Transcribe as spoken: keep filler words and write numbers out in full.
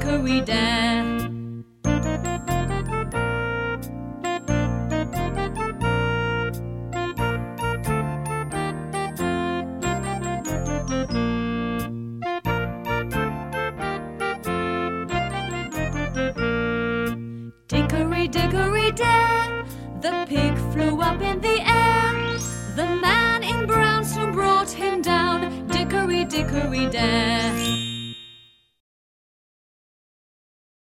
dickory, dare. Dickory, dickory, dare, the pig flew up in the air. The man in brown soon brought him down. Dickory, dickory, dare.